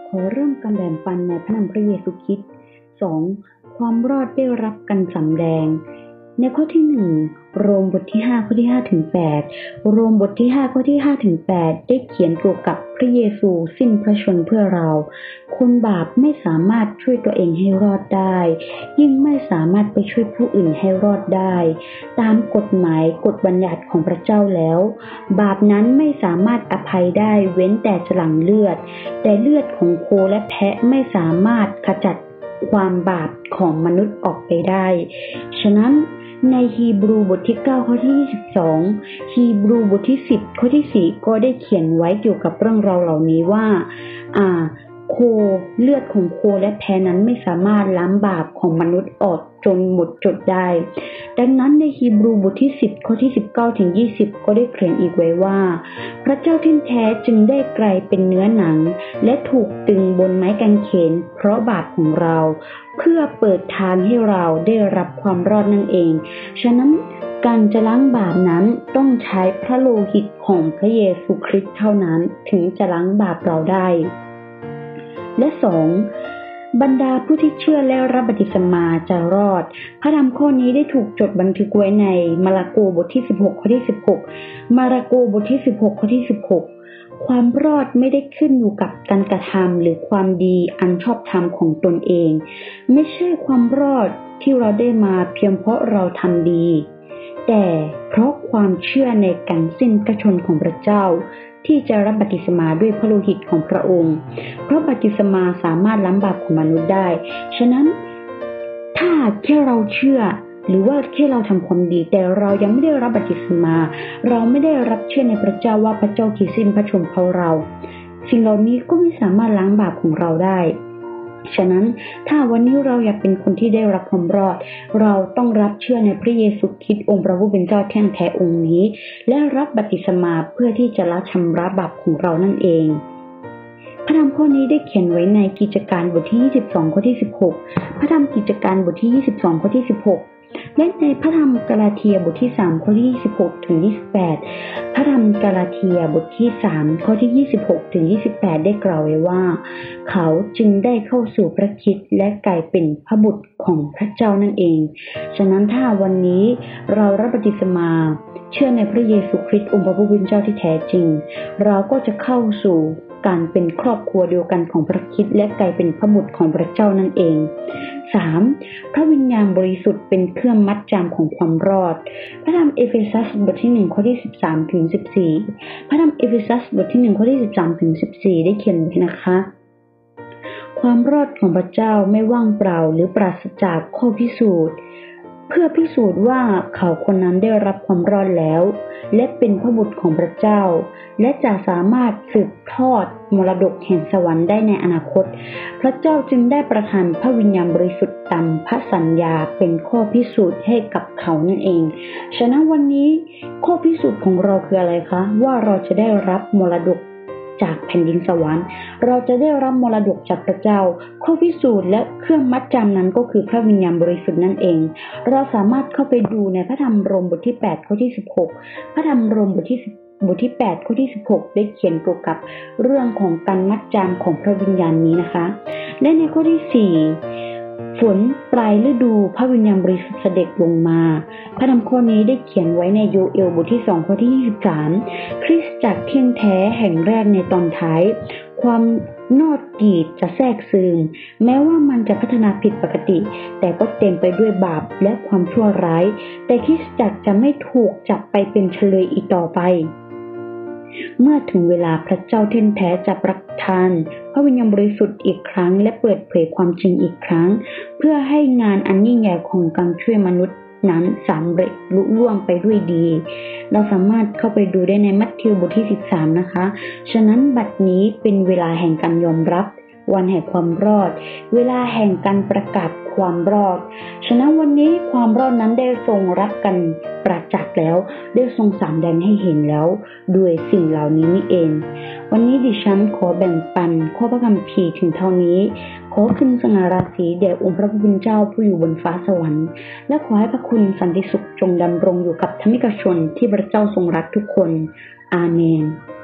ขอเริ่มการแบ่งปันในพระนามพระเยซูคริสต์ 2. ความรอดได้รับการสำแดงในข้อที่ 1 โรมบทที่ 5 ข้อที่ 5 ถึง 8 โรมบทที่ 5 ข้อที่ 5 ถึง 8 ได้เขียนเกี่ยวกับพระเยซูสิ้นพระชนม์เพื่อเราคนบาปไม่สามารถช่วยตัวเองให้รอดได้ยิ่งไม่สามารถไปช่วยผู้อื่นให้รอดได้ตามกฎหมายกฎบัญญัติของพระเจ้าแล้วบาปนั้นไม่สามารถอภัยได้เว้นแต่จะหลั่งเลือดแต่เลือดของโคและแพะไม่สามารถขจัดความบาปของมนุษย์ออกไปได้ฉะนั้นในฮีบรูบทที่9ข้อที่22ฮีบรูบทที่10ข้อที่4ก็ได้เขียนไว้เกี่ยวกับเรื่องราวเหล่านี้ว่าโคเลือดของโคและแพะนั้นไม่สามารถล้างบาปของมนุษย์ออกจนหมดจดได้ดังนั้นในฮีบรูบทที่10ข้อที่19ถึง20ก็ได้เขียนอีกไว้ว่าพระเจ้าที่แท้จึงได้กลายเป็นเนื้อหนังและถูกตึงบนไม้กางเขนเพราะบาปของเราเพื่อเปิดทางให้เราได้รับความรอดนั่นเองฉะนั้นการจะล้างบาปนั้นต้องใช้พระโลหิตของพระเยซูคริสต์เท่านั้นถึงจะล้างบาปเราได้และ 2. บรรดาผู้ที่เชื่อและรับบัพติศมาจะรอดพระธรรมข้อนี้ได้ถูกจดบันทึกไว้ในมาระโกบทที่16ข้อที่16มาระโกบทที่16ข้อที่16ความรอดไม่ได้ขึ้นอยู่กับการกระทำหรือความดีอันชอบธรรมของตนเองไม่ใช่ความรอดที่เราได้มาเพียงเพราะเราทำดีแต่เพราะความเชื่อในการสิ้นพระชนม์ของพระเจ้าที่จะรับบัพติศมาด้วยพระโลหิตของพระองค์เพราะบัพติศมาสามารถล้างบาปของมนุษย์ได้ฉะนั้นถ้าแค่เราเชื่อหรือว่าแค่เราทำความดีแต่เรายังไม่ได้รับบัพติศมาเราไม่ได้รับเชื่อในพระเจ้าว่าพระเจ้าที่สิ้นพระชนม์เพราะเราสิ่งเหล่านี้ก็ไม่สามารถล้างบาปของเราได้ฉะนั้นถ้าวันนี้เราอยากเป็นคนที่ได้รับความรอดเราต้องรับเชื่อในพระเยซูคริสต์องค์พระผู้เป็นเจ้าแท้องค์นี้และรับบัพติศมาเพื่อที่จะละชำระบาปของเรานั่นเองพระธรรมข้อนี้ได้เขียนไว้ในกิจการบทที่22ข้อที่16พระธรรมกิจการบทที่22ข้อที่16และในพระธรรมกาลาเทียบทที่3ข้อที่26ถึง28พระธรรมกาลาเทียบทที่3ข้อที่26ถึง28ได้กล่าวไว้ว่าเขาจึงได้เข้าสู่พระคริสต์และกลายเป็นพระบุตรของพระเจ้านั่นเองฉะนั้นถ้าวันนี้เรารับบัพติศมาเชื่อในพระเยซูคริสต์องค์พระผู้เป็นเจ้าที่แท้จริงเราก็จะเข้าสู่การเป็นครอบครัวเดียวกันของพระคริสต์และกลายเป็นพระบุตรของพระเจ้านั่นเอง 3. พระวิญญาณบริสุทธิ์เป็นเครื่องมัดจำของความรอดพระธรรมเอเฟซัสบทที่1ข้อที่13ถึง14พระธรรมเอเฟซัสบทที่1ข้อที่13ถึง14ได้เขียนไว้นะคะความรอดของพระเจ้าไม่ว่างเปล่าหรือปราศจากข้อพิสูจน์เพื่อพิสูจน์ว่าเขาคนนั้นได้รับความรอดแล้วและเป็นพระบุตรของพระเจ้าและจะสามารถสืบทอดมรดกแห่งสวรรค์ได้ในอนาคตพระเจ้าจึงได้ประทานพระวิญญาณบริสุทธิ์ตามพระสัญญาเป็นข้อพิสูจน์ให้กับเขานั่นเองฉะนั้นวันนี้ข้อพิสูจน์ของเราคืออะไรคะว่าเราจะได้รับมรดกจากแผ่นดินสวรรค์เราจะได้รับมรดกจากพระเจ้าข้อพิสูจน์และเครื่องมัดจำนั้นก็คือพระวิญญาณบริสุทธิ์นั่นเองเราสามารถเข้าไปดูในพระธรรมโรมบทที่8ข้อที่16พระธรรมโรมบทที่8ข้อที่16ได้เขียนเกี่ยวกับเรื่องของการมัดจำของพระวิญญาณนี้นะคะและในข้อที่4ฝนปลายฤดูพระวิญญาณบริสุทธิ์เสด็จลงมาพระธรรมข้อนี้ได้เขียนไว้ในโยเอลบทที่2ข้อที่23คริสตจักรเที่ยงแท้แห่งแรกในตอนท้ายความนอดกีดจะแทรกซึมแม้ว่ามันจะพัฒนาผิดปกติแต่ก็เต็มไปด้วยบาปและความชั่วร้ายแต่คริสตจักรจะไม่ถูกจับไปเป็นเฉลยอีกต่อไปเมื่อถึงเวลาพระเจ้าเที่ยงแท้จะประทานพระวิญญาณบริสุทธิ์อีกครั้งและเปิดเผยความจริงอีกครั้งเพื่อให้งานอันยิ่งใหญ่ของการช่วยมนุษย์นั้นสำเร็จลุล่วงไปด้วยดีเราสามารถเข้าไปดูได้ในมัทธิวบทที่13นะคะฉะนั้นบัดนี้เป็นเวลาแห่งการยอมรับวันแห่งความรอดเวลาแห่งการประกาศความรอดฉะนั้นวันนี้ความรอดนั้นได้ทรงรับกันประจักษ์แล้วได้ทรงสำแดงให้เห็นแล้วด้วยสิ่งเหล่านี้นี่เองวันนี้ดิฉันขอแบ่งปันข้อพระคัมภีร์ถึงเท่านี้ขอขึ้นสง่าราศีแด่องค์พระผู้เป็นเจ้าผู้อยู่บนฟ้าสวรรค์และขอให้พระคุณสันติสุขจงดำรงอยู่กับธรรมิกชนที่พระเจ้าทรงรักทุกคนอาเมน